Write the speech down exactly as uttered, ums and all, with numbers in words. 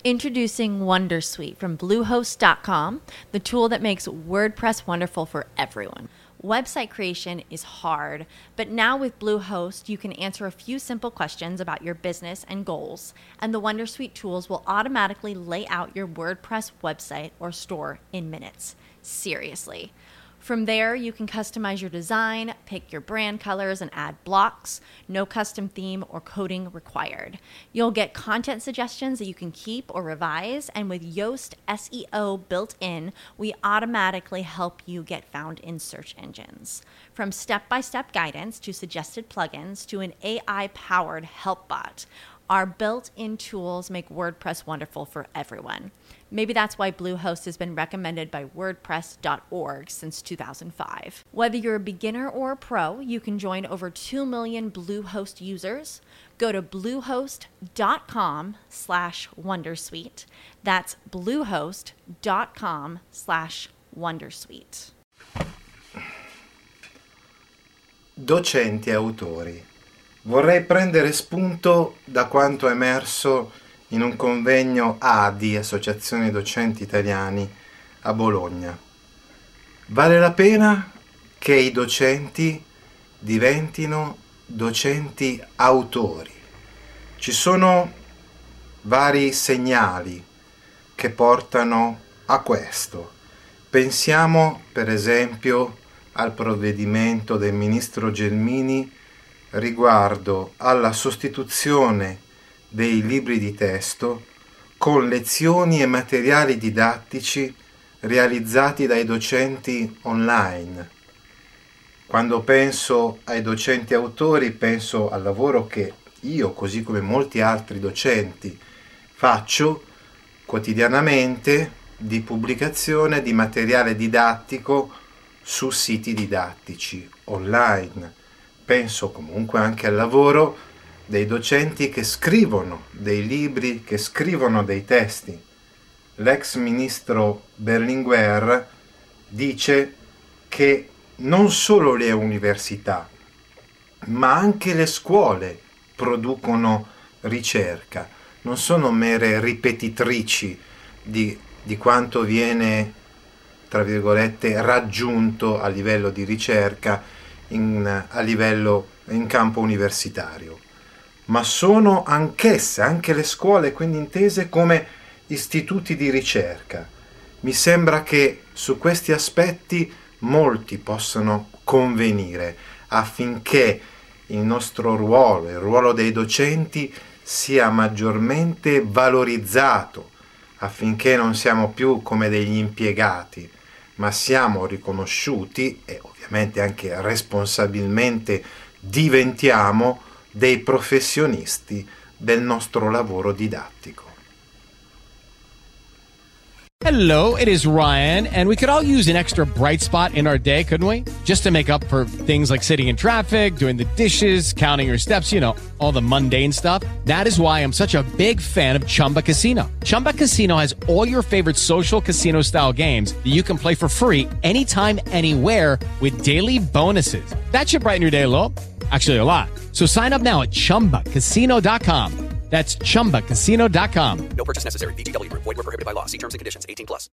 Introducing Wondersuite from Bluehost dot com, the tool that makes WordPress wonderful for everyone. Website creation is hard, but now with Bluehost, you can answer a few simple questions about your business and goals, and the Wondersuite tools will automatically lay out your WordPress website or store in minutes. Seriously. From there, you can customize your design, pick your brand colors, and add blocks. No custom theme or coding required. You'll get content suggestions that you can keep or revise, and with Yoast S E O built in, we automatically help you get found in search engines. From step-by-step guidance to suggested plugins to an A I-powered help bot, our built-in tools make WordPress wonderful for everyone. Maybe that's why Bluehost has been recommended by WordPress dot org since two thousand five. Whether you're a beginner or a pro, you can join over two million Bluehost users. Go to bluehost dot com slash wondersuite. That's bluehost dot com slash wondersuite. Docenti e autori. Vorrei prendere spunto da quanto emerso in un convegno A D I, Associazione Docenti Italiani, a Bologna. Vale la pena che i docenti diventino docenti autori. Ci sono vari segnali che portano a questo. Pensiamo, per esempio, al provvedimento del ministro Gelmini riguardo alla sostituzione dei libri di testo con lezioni e materiali didattici realizzati dai docenti online. Quando penso ai docenti autori, penso al lavoro che io, così come molti altri docenti, faccio quotidianamente di pubblicazione di materiale didattico su siti didattici online. Penso comunque anche al lavoro dei docenti che scrivono dei libri, che scrivono dei testi. L'ex ministro Berlinguer dice che non solo le università, ma anche le scuole producono ricerca, non sono mere ripetitrici di, di quanto viene, tra virgolette, raggiunto a livello di ricerca in, a livello in campo universitario, ma sono anch'esse, anche le scuole, quindi intese come istituti di ricerca. Mi sembra che su questi aspetti molti possano convenire affinché il nostro ruolo, il ruolo dei docenti, sia maggiormente valorizzato, affinché non siamo più come degli impiegati, ma siamo riconosciuti e ovviamente anche responsabilmente diventiamo dei professionisti del nostro lavoro didattico. Hello, it is Ryan, and we could all use an extra bright spot in our day, couldn't we? Just to make up for things like sitting in traffic, doing the dishes, counting your steps, you know, all the mundane stuff. That is why I'm such a big fan of Chumba Casino. Chumba Casino has all your favorite social casino-style games that you can play for free anytime, anywhere with daily bonuses. That should brighten your day a little. Actually, a lot. So sign up now at chumba casino dot com. That's chumba casino dot com. No purchase necessary. V G W Group. Void where prohibited by law. See terms and conditions. eighteen plus.